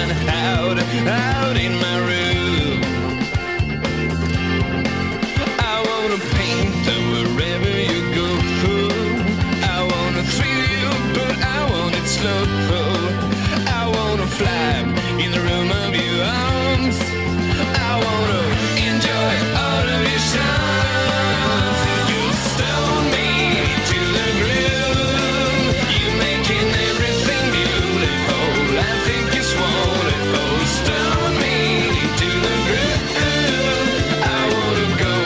one out in my room. I wanna paint wherever you go. I wanna thrill you, but I want it slow. I wanna fly in the room of your arms. I wanna enjoy all of your charms. You stone me to the groove. You're making everything beautiful. I think it's wonderful. Stone me to the groove. I wanna go.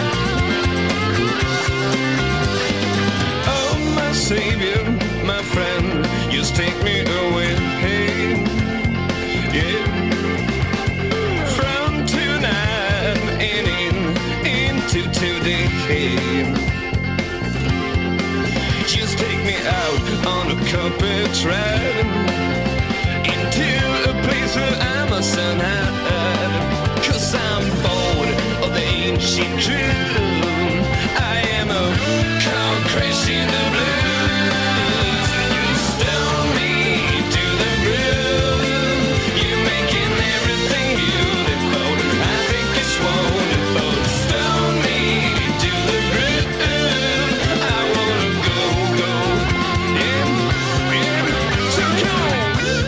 Oh, my savior, my friend, just take me away. Yeah. From tonight and into today. Just take me out on a carpet ride into a place where I must hide. 'Cause I'm bored of the ancient truth. I am a car crash in the blues. You stone me to the groove. You're making everything beautiful. I think it's wonderful. Stone me to the groove. I wanna go, yeah, yeah. So come on.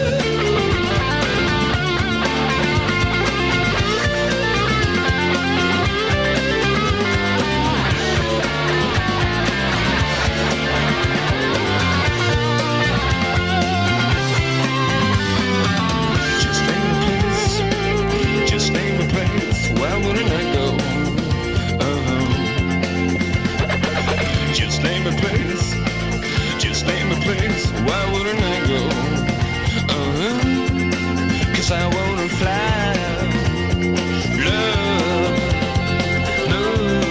Just name a place, why wouldn't I go? Just name a place, why wouldn't I go? 'Cause I wanna fly, love, no,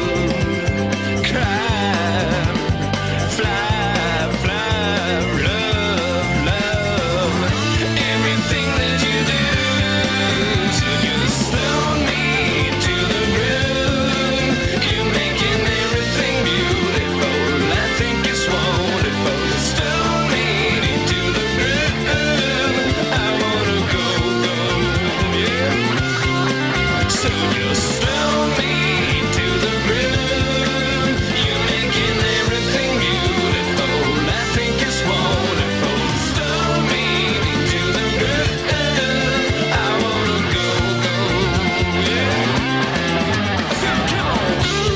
cry, fly, love, everything that you do. So just stone me to the groove. You're making everything beautiful. I think it's wonderful. Stone me to the groove. I wanna go, yeah. So just stone me to the groove. You're making everything beautiful. I think it's wonderful. Stone me to the groove. I wanna go, yeah. So come on.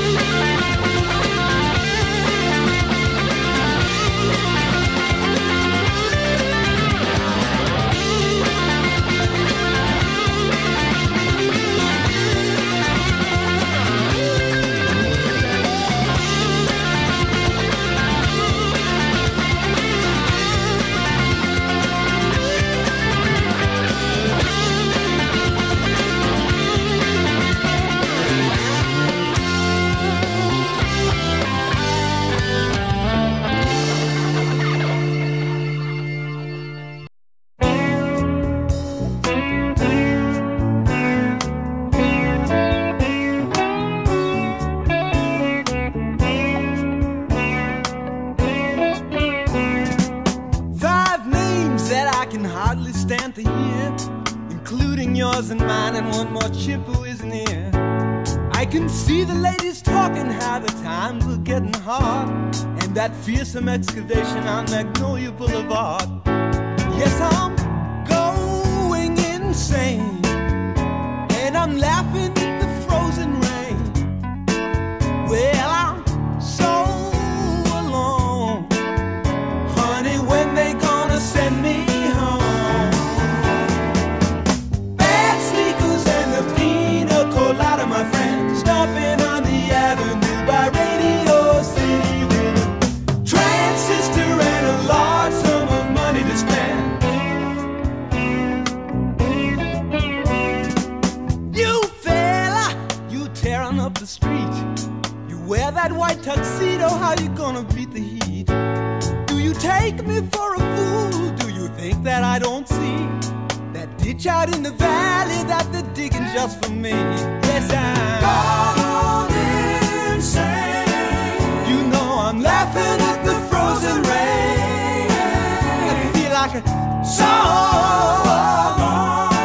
Five names that I can hardly stand to hear, including yours and mine, and one more chip who isn't here. I can see the ladies talking how the times are getting hard, and that fearsome excavation on Magnolia Boulevard. Yes, I'm going insane, and I'm laughing at the frozen rain. Well, I'm so alone. Honey, when they gonna send me home? Bad sneakers and the pina colada, my friend. Stopping on the avenue by Radio City with a transistor and a large sum of money to spend. You fella, you tearing up the street. You wear that white tuxedo, how you gonna beat the heat? Do you take me for a fool? Do you think that I don't see that ditch out in the valley that they're digging just for me? Yes, I'm gone insane. You know I'm laughing at the frozen rain. I feel like a song.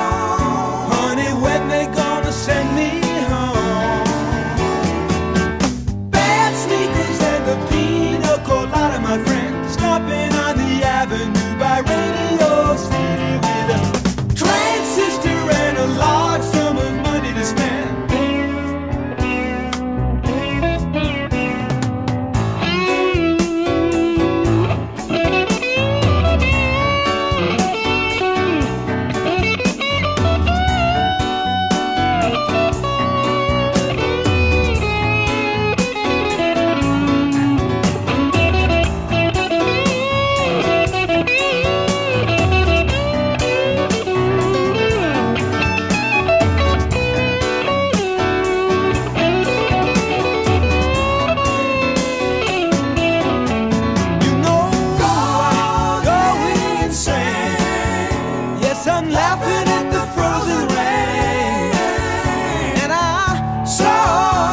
sun laughing at the frozen rain. And I saw,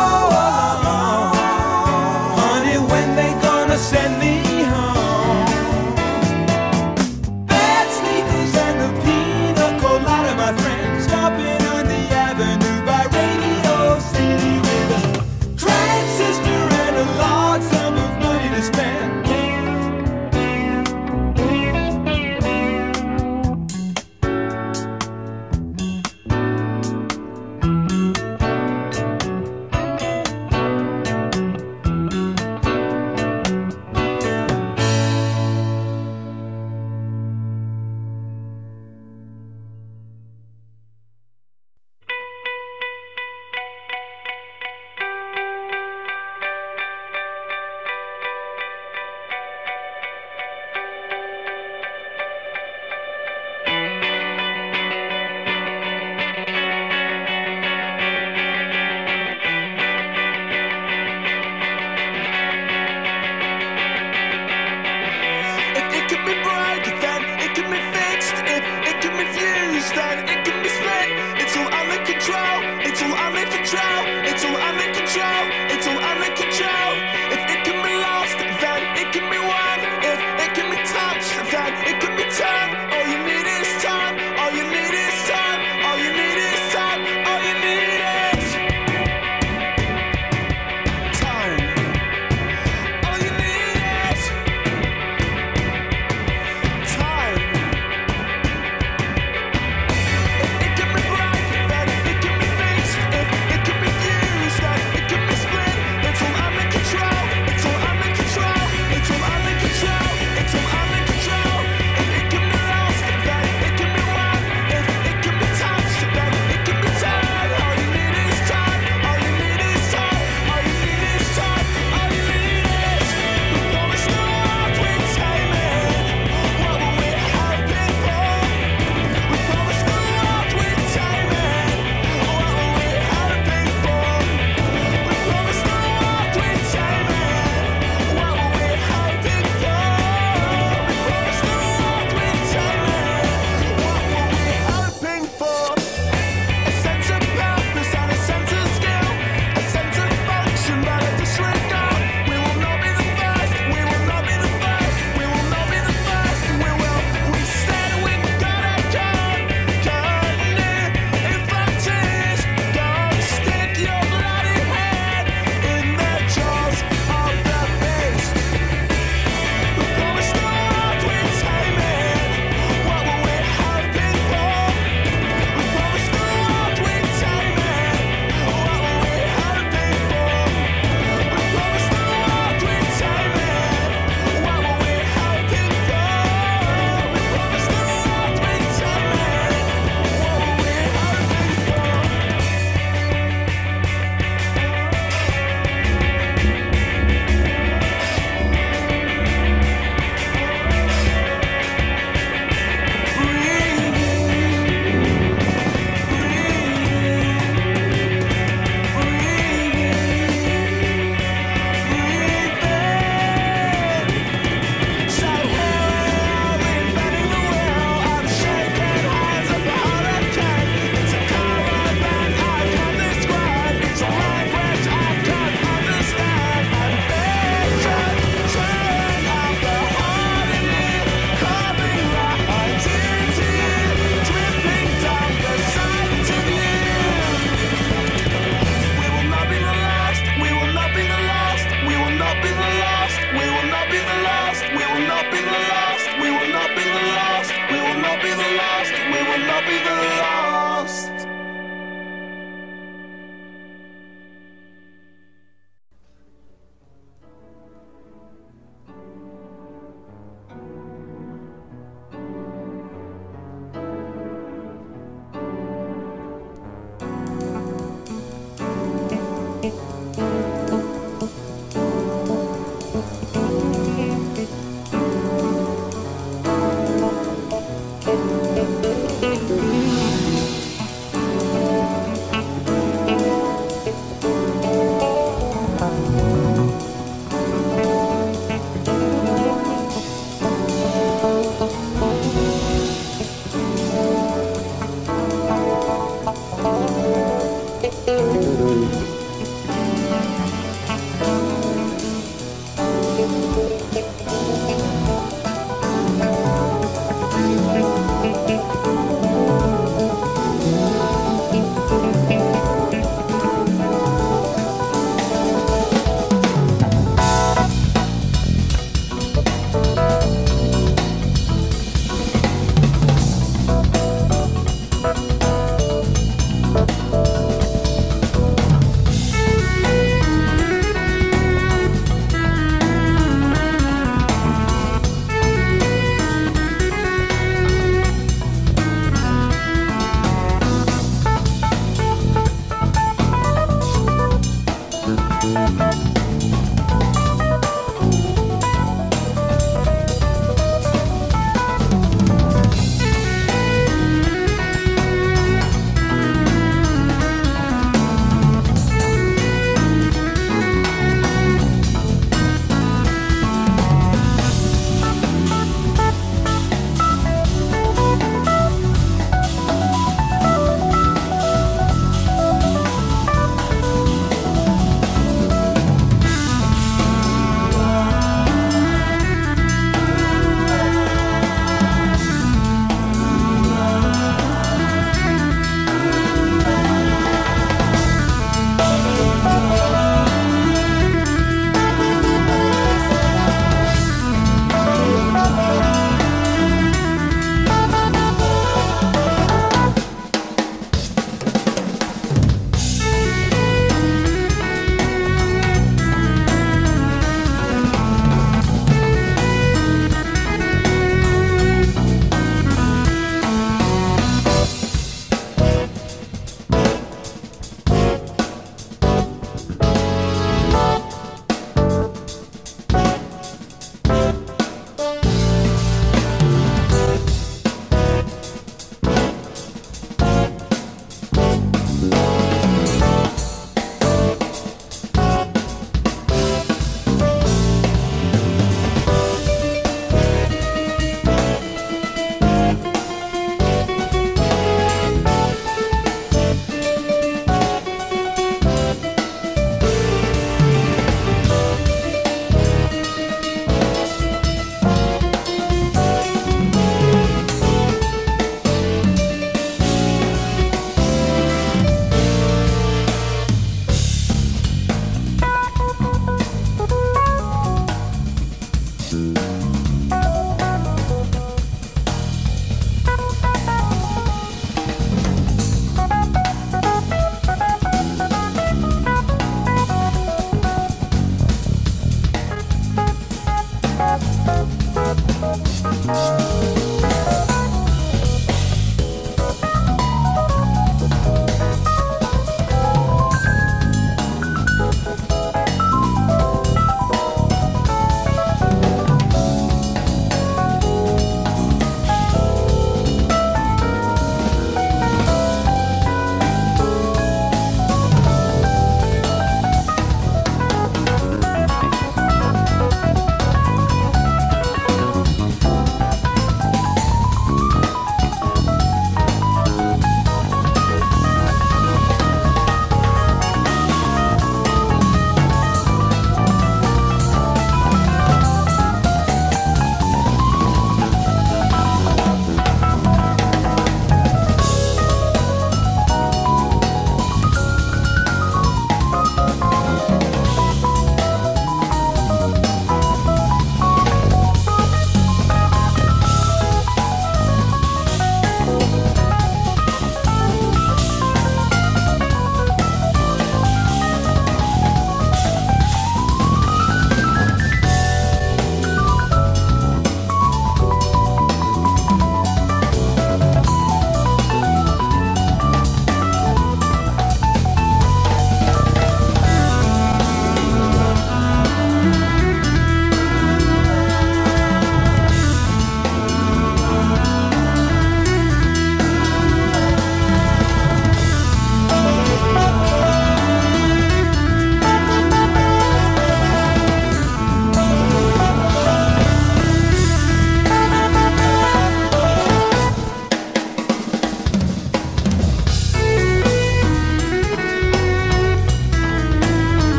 honey, when they gonna send me home? Bad sneakers and the pina colada, my friend, stopping on the avenue by Radio City with a transistor and a large sum of money to spend.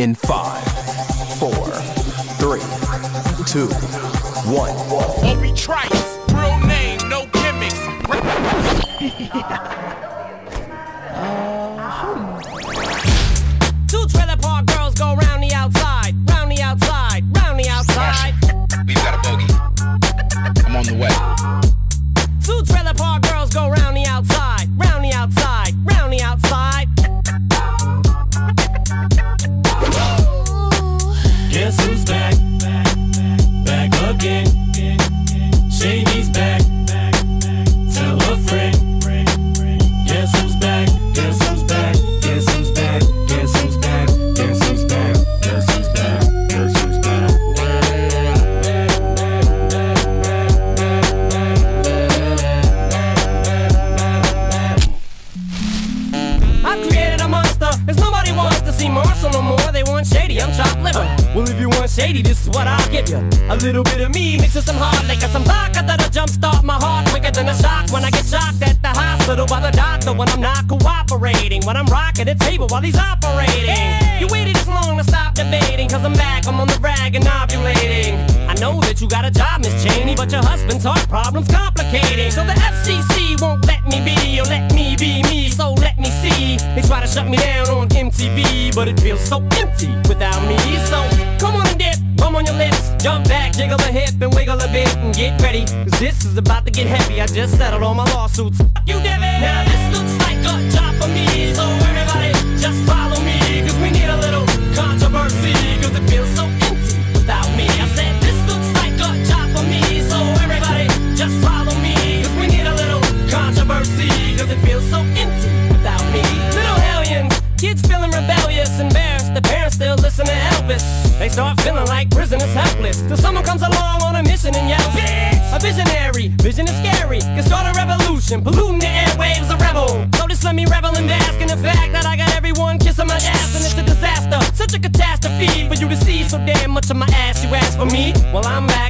in 5, 4, 3, 2, 1. Obi Trice, real name, no gimmicks. Two trailer park girls go round the outside, round the outside, round the outside. We've got a bogey. I'm on the way. Two trailer park girls go round the outside, round the outside, round the outside. Guess who's back? Back again. Shady's back. Tell a friend. Guess who's back? Guess who's back? Guess who's back? Guess who's back? Guess who's back? Guess who's back? Guess who's back? I've created a monster, as nobody wants to see Marshall no more. They want Shady, I'm chopped liver. Well, if you want Shady, this is what I'll give you. A little bit of me mixed with some hard liquor, some vodka that'll jumpstart my heart quicker than a shock when I get shocked at the hospital by the doctor when I'm not cooperating, when I'm rocking the table while he's operating. Hey! You waited this long to stop debating, cause I'm back, I'm on the rag and ovulating. I know that you got a job, Miss Cheney, but your husband's heart problem's complicating. So the FCC won't let me be, or let me be me, so let me see. They try to shut me down on MTV, but it feels so empty without me. So come on and dip, bum on your lips, jump back, jiggle a hip and wiggle a bit and get ready, cause this is about to get heavy. I just settled all my lawsuits. Fuck you, Devin. Now this looks like a job for me, so everybody just follow me, cause we need a little controversy, cause it feels so empty without me. I said this looks like a job for me, so everybody just follow me, cause we need a little controversy, cause it feels so empty without me. Little hellions, kids feeling rebellious, embarrassed, the parents still listen to Elvis. They start feeling like prisoners helpless, till someone comes along on a mission and yells, bitch! A visionary, vision is scary, can start a revolution, polluting the airwaves, a rebel. So just let me revel and bask in the fact that I got everyone kissing my ass, and it's a disaster, such a catastrophe for you to see so damn much of my ass. You ask for me, well I'm back.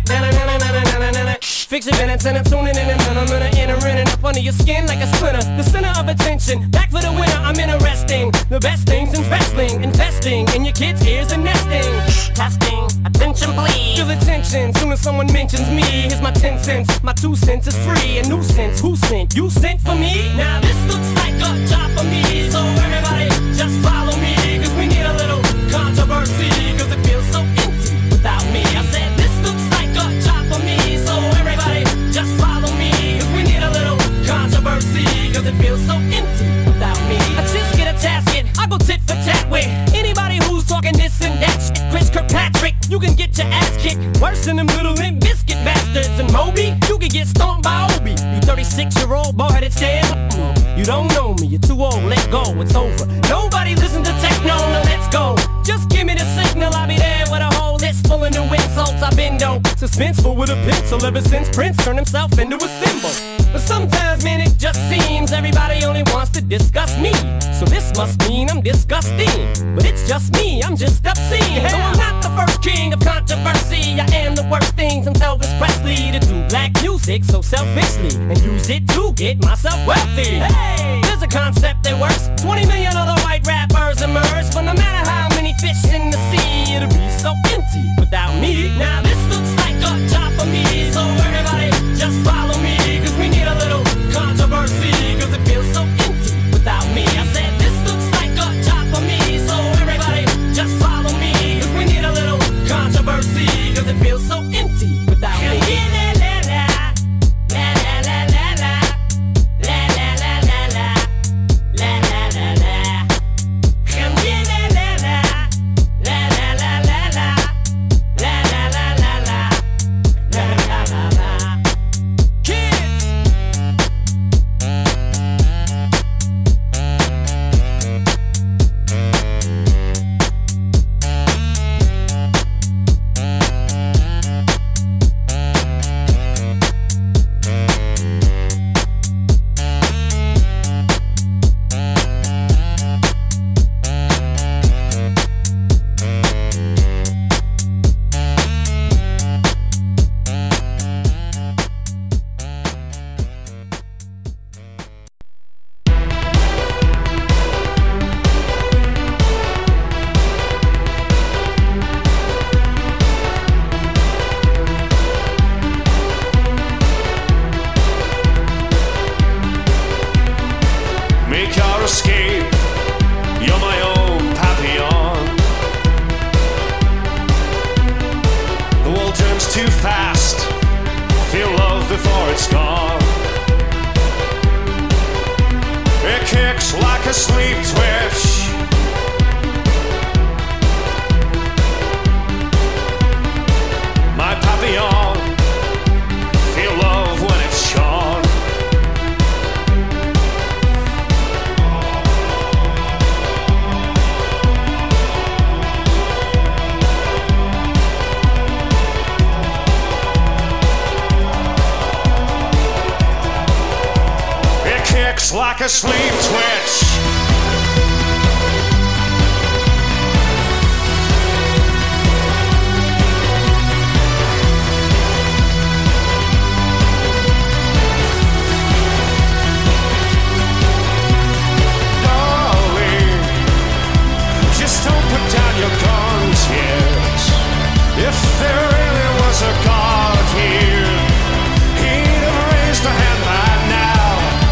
Fix your minutes and I'm tuning in and I'm gonna enter in and up under your skin like a splinter. The center of attention, back for the winner, I'm interesting. The best things in wrestling, investing in your kids' ears and nesting. Testing, attention please. Feel attention, soon as someone mentions me. Here's my 10 cents, my 2 cents is free. A nuisance, who sent? You sent for me? Now this looks like a job for me, so everybody just follow me, cause we need a little controversy, cause it feels so empty without me. I said this looks like a job for me, so everybody just follow me, cause we need a little controversy, cause it feels so empty without me. I just get a tasket, I go tit for tat with anybody who's talking this and that shit. Chris Kirkpatrick, you can get your ass kicked worse than them little Limp Bizkit bastards. And Moby, you can get stomped by Obi. You 36-year-old boy-headed stand. You don't know me, you're too old, let go, it's over. Nobody listen to techno, now let's go. Just give me the signal, I'll be there with a whole list full of new insults. I've been dope, suspenseful with a pencil ever since Prince turned himself into a symbol. But sometimes, man, it just seems everybody only wants to discuss me. So this must mean I'm disgusting. But it's just me, I'm just obscene. No, I'm not the first king of controversy. I am the worst thing since Elvis Presley to do black music so selfishly and use it to get myself wealthy. Hey, there's a concept that works. 20 million other white rappers emerge, but no matter how many fish in the sea, it'll be so empty without me. Now this looks like a job for me, so everybody just follow me, cause we need a little controversy, cause it feels so empty without me. I said this looks like a job for me, so everybody just follow me, cause we need a little controversy, cause it feels so empty without me. La la la la la la la la la la la la escape. You're my own Papillon. The world turns too fast. Feel love before it's gone. It kicks like a sleep twitch. My Papillon. Feel love when it's shone. Kicks like a sleep twitch. Darling, just don't put down your guns yet. If there really was a God here, he'd have raised a hand by now.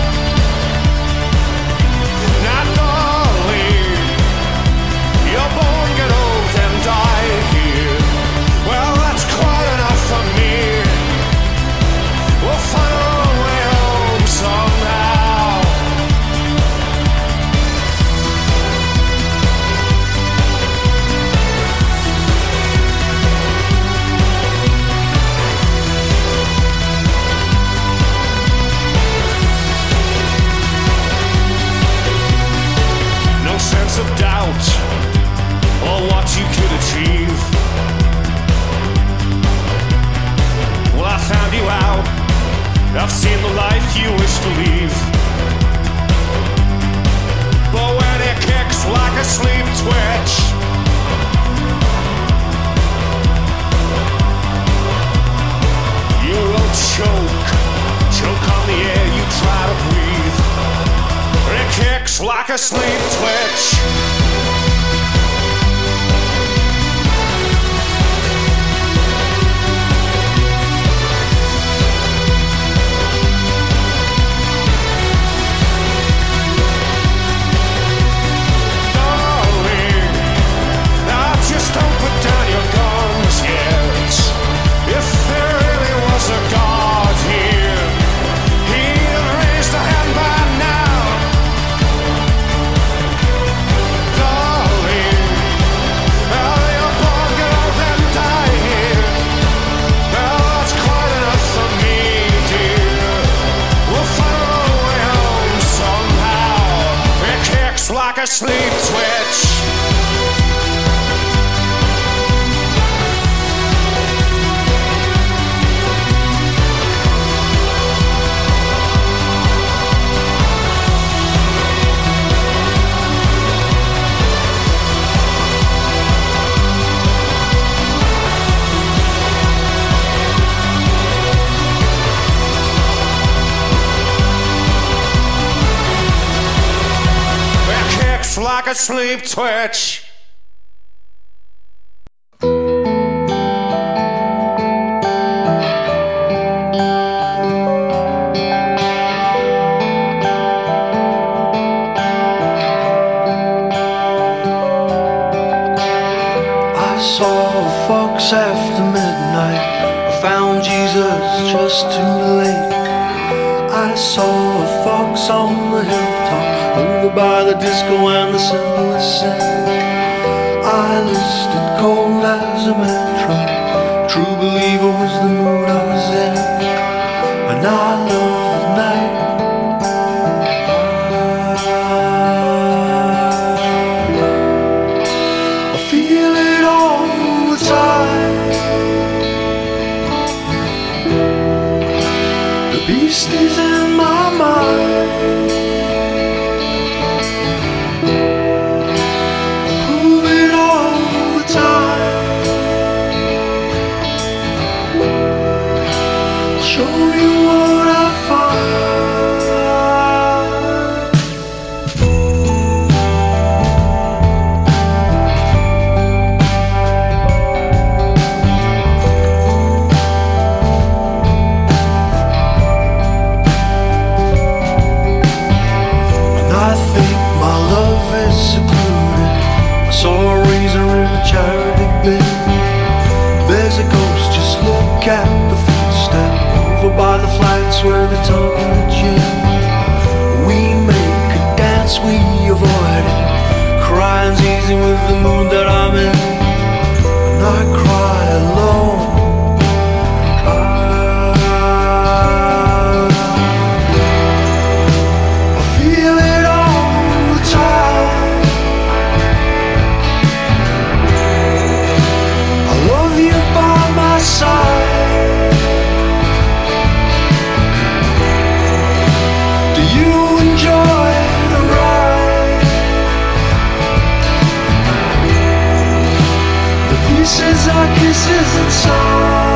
Not darling, you're born, get old, and die here. Well, that's quite enough for me. We'll find our way home somehow. No sense of doubt or what you could achieve. Well, I found you out. I've seen the life you wish to leave. But when it kicks like a sleep twitch, you will choke on the air you try to breathe. It kicks like a sleep twitch. Darling, now just don't put down your guns yet. If there really was a God here, he'd have raised a hand by now. Darling, well, you're born, get old, and die here. Well, that's quite enough for me, dear. We'll find our way home somehow. It kicks like a sleep twitch. It kicks like a sleep twitch. I saw a fox after midnight. I found Jesus just too late. I saw a fox on the hilltop, over by the disco and the simplest sin. I listed cold as a mantra. True believer was the mood I was in, and I love the night. I feel it all the time. The beast is in my mind. I prove it all the time. crazy with the mood that I'm in, and I cry alone. I feel it all the time. I love you by my side. Do you enjoy the ride? The pieces are kisses inside.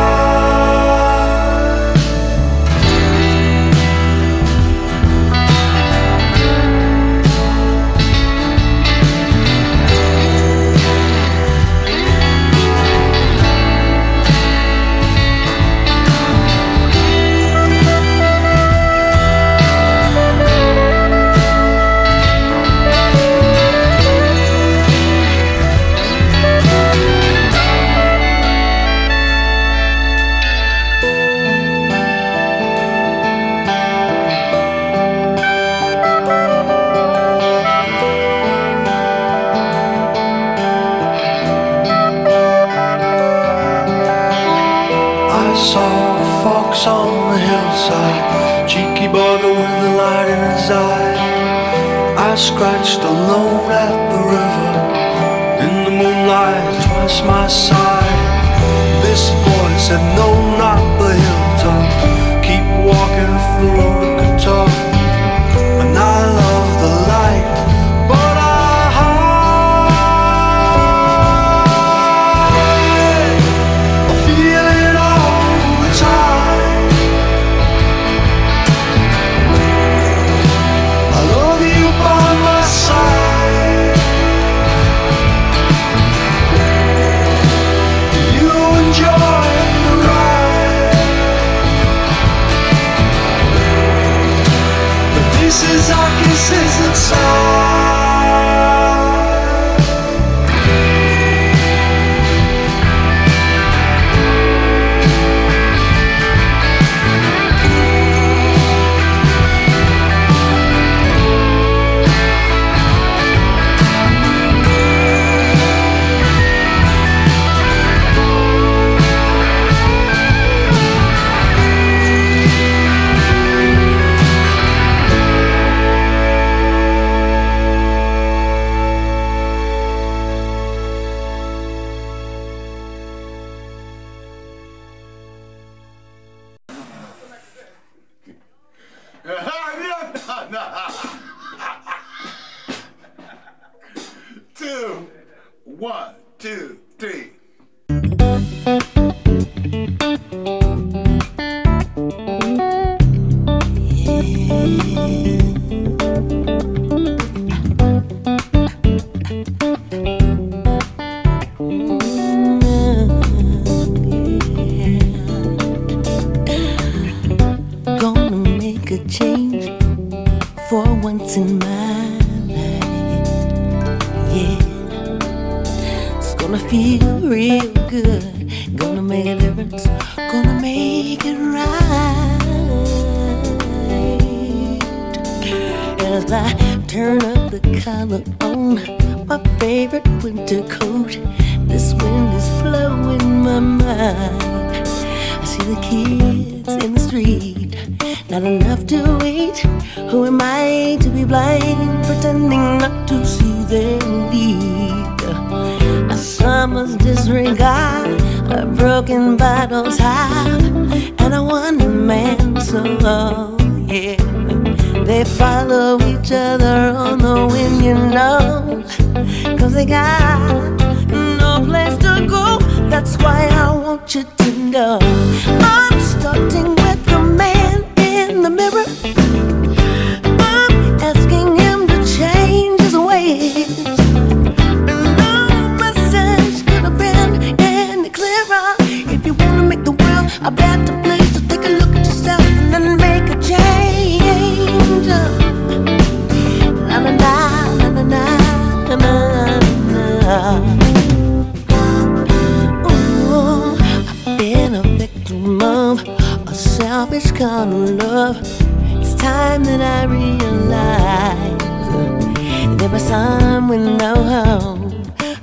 I saw a fox on the hillside, cheeky bugger with the light in his eye. I scratched alone at the river, in the moonlight twice my size. This boy said no, not the hilltop, keep walking through the guitar. And I love the light, but I feel it all the time. I love you by my side. Do you enjoy the ride? The pieces are kisses inside. Two, one, two, three. Gonna make a change for once in my life. Yeah, it's gonna feel real good. Gonna make a difference. Gonna make it right. As I turn up the collar on my favorite winter coat, this wind is flowing my mind. I see the kids in the street, not enough to eat. Who am I to be blind, pretending not to see their need? A summer's disregard, a broken bottle's half, and a one-man song. Yeah, they follow each other on the wind, you know, 'cause they got no place to go. That's why I want you to know I'm starting with the man in the mirror. I'm asking him to change his ways. No message could have been any clearer. If you wanna make the world a better place, so take a look at yourself and then make a change. Na na na na na na na na. Ooh, I've been a victim of a selfish kind of love. It's time that I realize there was someone no home.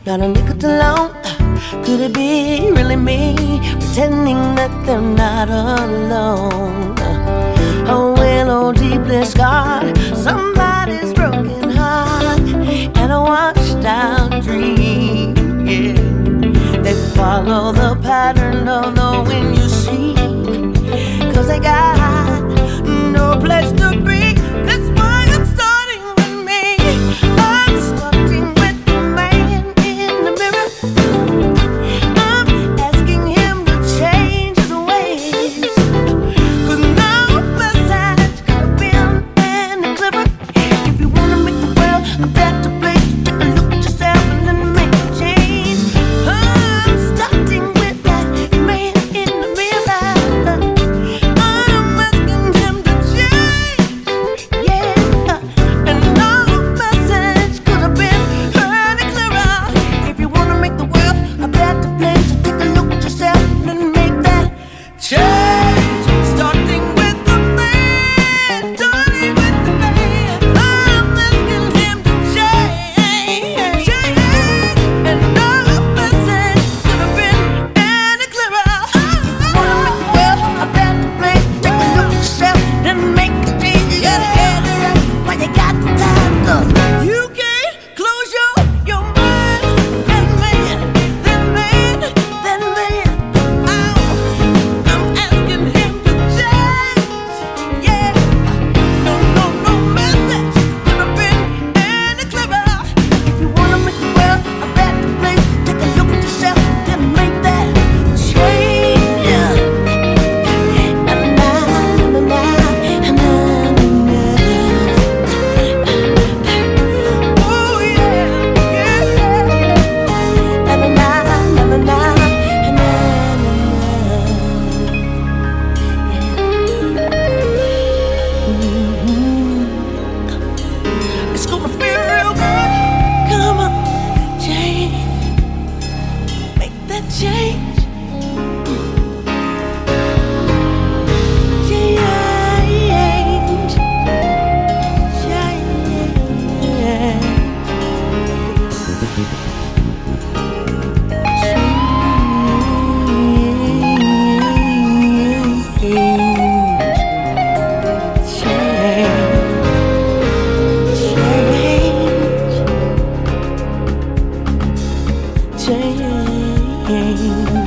not a nickel alone. Could it be really me, pretending that they're not alone? Oh, well, oh, deeply scarred, somebody's broken heart, and a washed out dream, yeah. They follow the pattern of the wind, you see, 'cause they got no place to be. That's why I'm starting with me. I'm starting with the man in the mirror. I'm asking him to change his ways, 'cause no message could have been any clearer. If you wanna make the world a better place, take a look at yourself and then make a change. I'm starting with that man in the mirror. I'm asking him to change, yeah. And no message could have been any clearer. If you wanna make the world a better place, take a look at yourself and make that change. Starting with the man, starting with the man. I'm asking him to change, and no message could have been any clearer. If you wanna make the world a better place, take a look at yourself and make a change. You gotta get it right while you got the time, 'cause you can't close your mind. That man, that man, that man. I'm asking him to change, yeah. No message could have been any clearer. If you wanna make the world a better place, take a look at yourself and make that change, yeah. Oh, it's gonna feel real good. Come on, change, make that change. Change, change.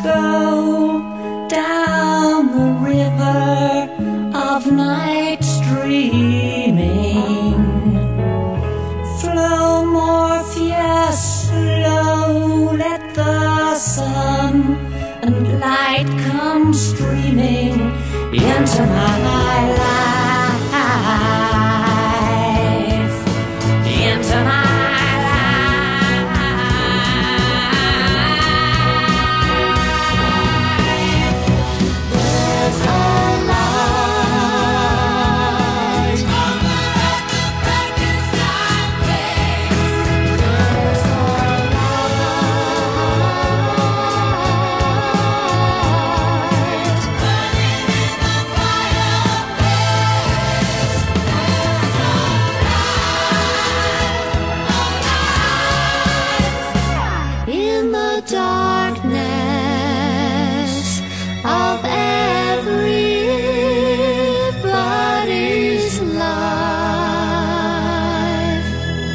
go down the river of night streaming. Flow Morpheus, slow, let the sun and light come streaming into my life, into my darkness of everybody's life.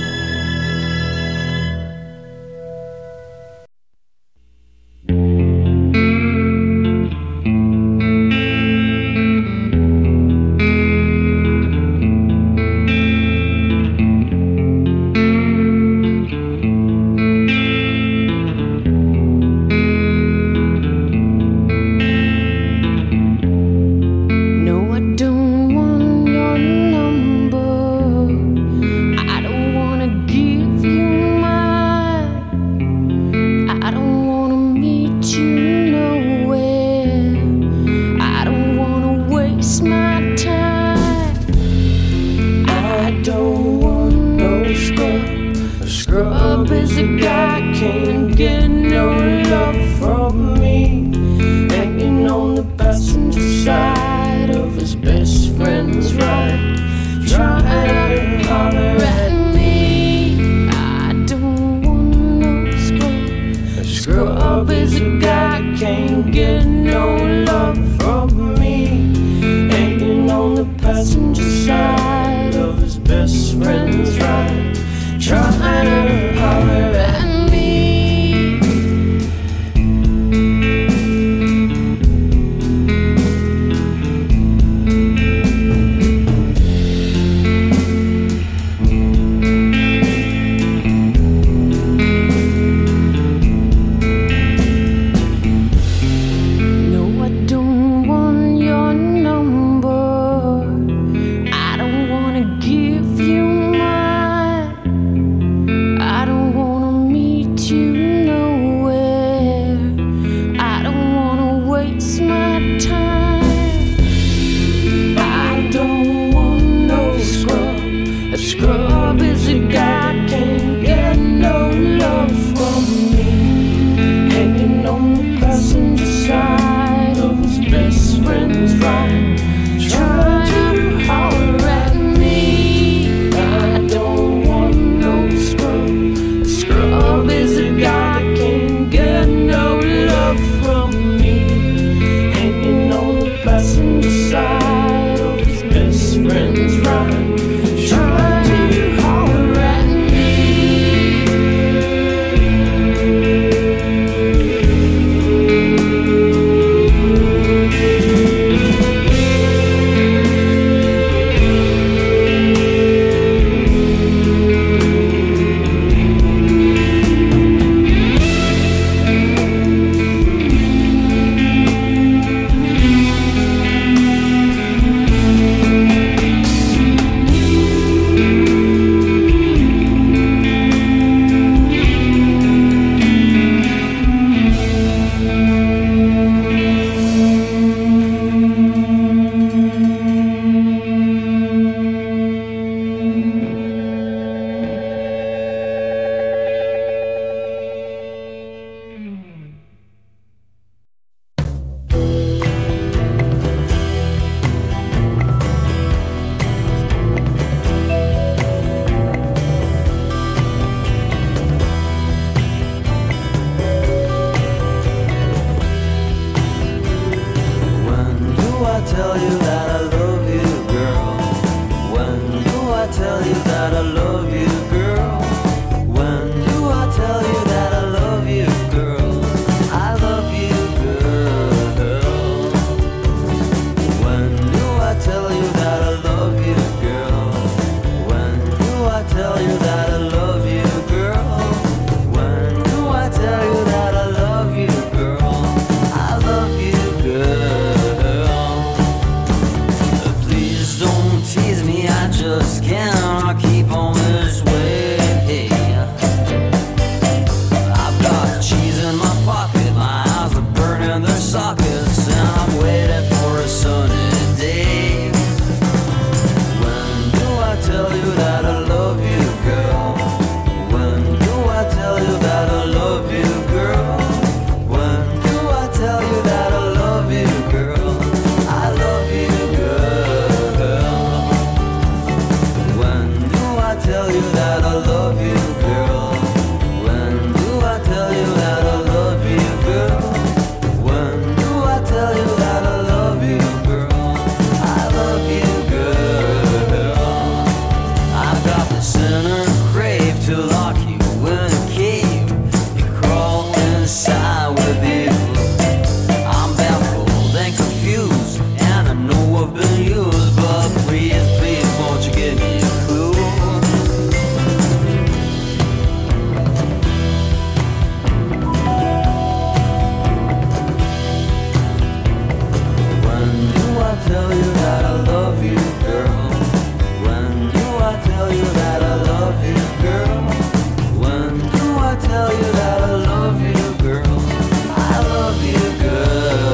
Scrub is a guy can't get no love from me, hanging on the passenger side of his best friend's ride, trying to holler at me. I don't want no scrub. A scrub is a guy can't get no love from me, hanging on the passenger side of his best friend's ride, trying to holler at me. No, I don't want your number. I don't want to give you mine. I don't wanna meet you nowhere. I don't wanna waste my time. I don't want no scrub. A scrub is a guy can't get no love from me, hanging on the passenger side of his best friend's ride, trying to holler at me. I don't want no scrub. Scrub is a guy can't get no love from me, hanging on the passenger side of his best friend's ride, trying to holler at me. tell you that I love you, girl? When do I tell you that I love you, girl? When do I tell you that I love you, girl? I love you, girl. pocket. My eyes are burning their sockets, and I'm waiting for a sunny day. When do I tell you that I love you, girl? When do I tell you that I love you, girl? When do I tell you that I love you, girl? I love you, girl. When do I tell you that I love you, girl? When do I tell you that I love you, girl? When do I tell you that I love you, girl? I love you, girl. I've got the sinner crave to lock you in a cave. You crawl inside with you. I'm baffled and confused, and I know I've been used, but please, please, won't you give me a clue? When do I tell you that I love you, girl? When do I tell you that I love you, girl? When do I tell you that I love you, girl? I love you, girl.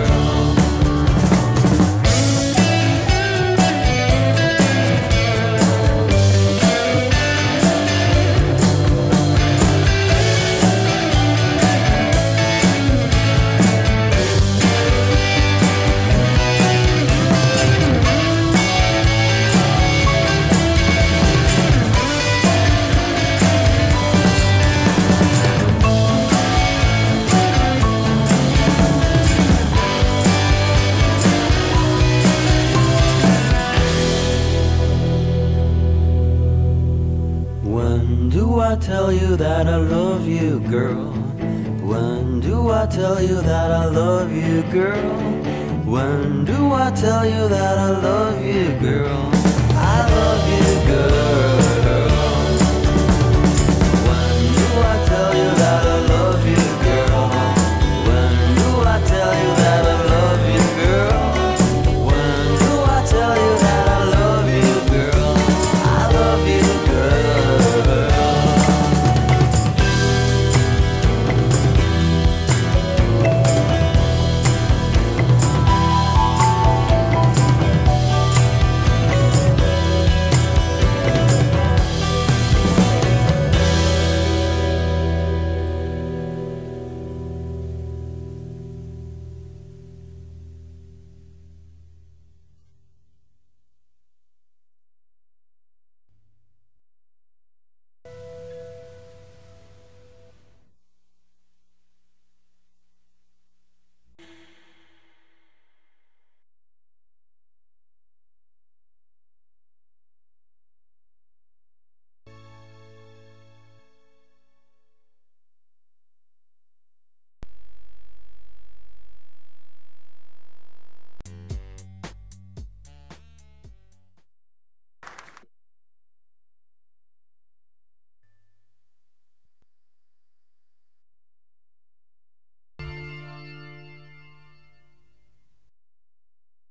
When do I tell you that I love you, girl? When do I tell you that I love you, girl? When do I tell you that I love you, girl? I love you, girl.